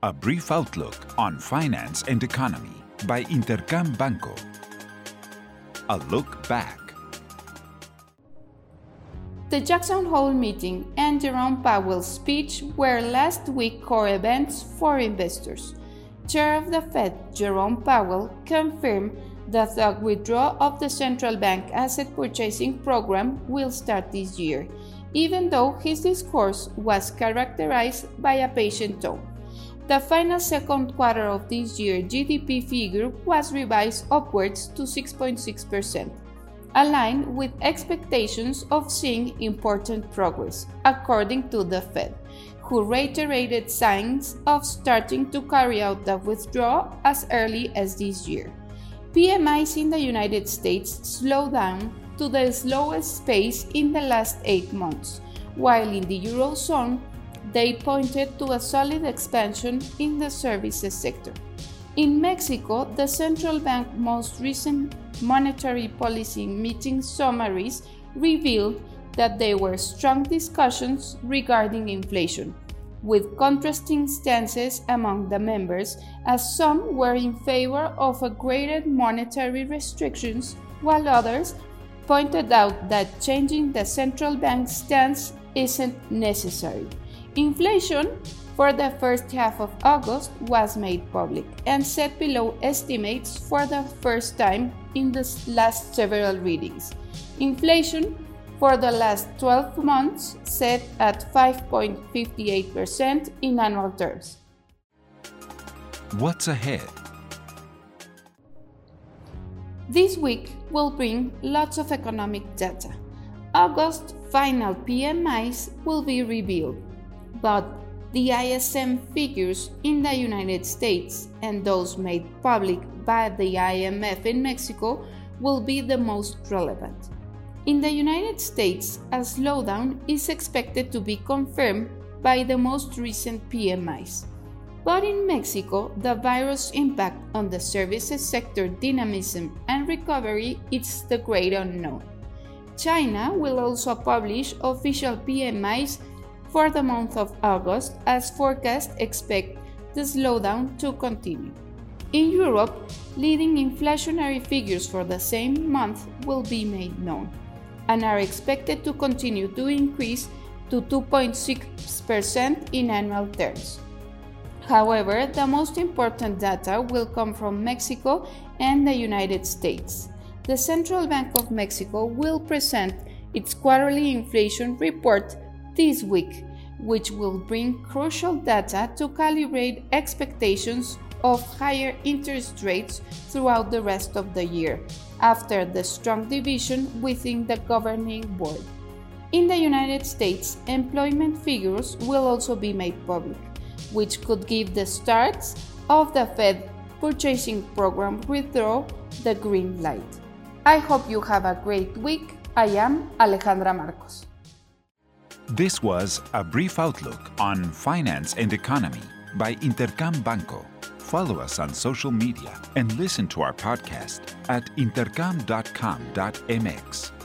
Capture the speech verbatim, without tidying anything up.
A brief outlook on finance and economy by Intercam Banco. A look back. The Jackson Hole meeting and Jerome Powell's speech were last week's core events for investors. Chair of the Fed, Jerome Powell, confirmed that the withdrawal of the central bank asset purchasing program will start this year, even though his discourse was characterized by a patient tone. The final second quarter of this year G D P figure was revised upwards to six point six percent, aligned with expectations of seeing important progress, according to the Fed, who reiterated signs of starting to carry out the withdrawal as early as this year. P M Is in the United States slowed down to the slowest pace in the last eight months, while in the Eurozone, they pointed to a solid expansion in the services sector. In Mexico, the central bank's most recent monetary policy meeting summaries revealed that there were strong discussions regarding inflation, with contrasting stances among the members, as some were in favor of a greater monetary restrictions, while others pointed out that changing the central bank's stance isn't necessary. Inflation for the first half of August was made public and set below estimates for the first time in the last several readings. Inflation for the last twelve months set at five point five eight percent in annual terms. What's ahead? This week will bring lots of economic data. August final P M Is will be revealed, but the I S M figures in the United States and those made public by the I M F in Mexico will be the most relevant. In the United States, a slowdown is expected to be confirmed by the most recent P M Is. But in Mexico, the virus impact on the services sector dynamism and recovery is the great unknown. China will also publish official P M Is for the month of August, as forecasts expect the slowdown to continue. In Europe, leading inflationary figures for the same month will be made known and are expected to continue to increase to two point six percent in annual terms. However, the most important data will come from Mexico and the United States. The Central Bank of Mexico will present its quarterly inflation report this week, which will bring crucial data to calibrate expectations of higher interest rates throughout the rest of the year, after the strong division within the governing board. In the United States, employment figures will also be made public, which could give the starts of the Fed purchasing program withdraw the green light. I hope you have a great week. I am Alejandra Marcos. This was a brief outlook on finance and economy by Intercam Banco. Follow us on social media and listen to our podcast at intercam dot com dot m x.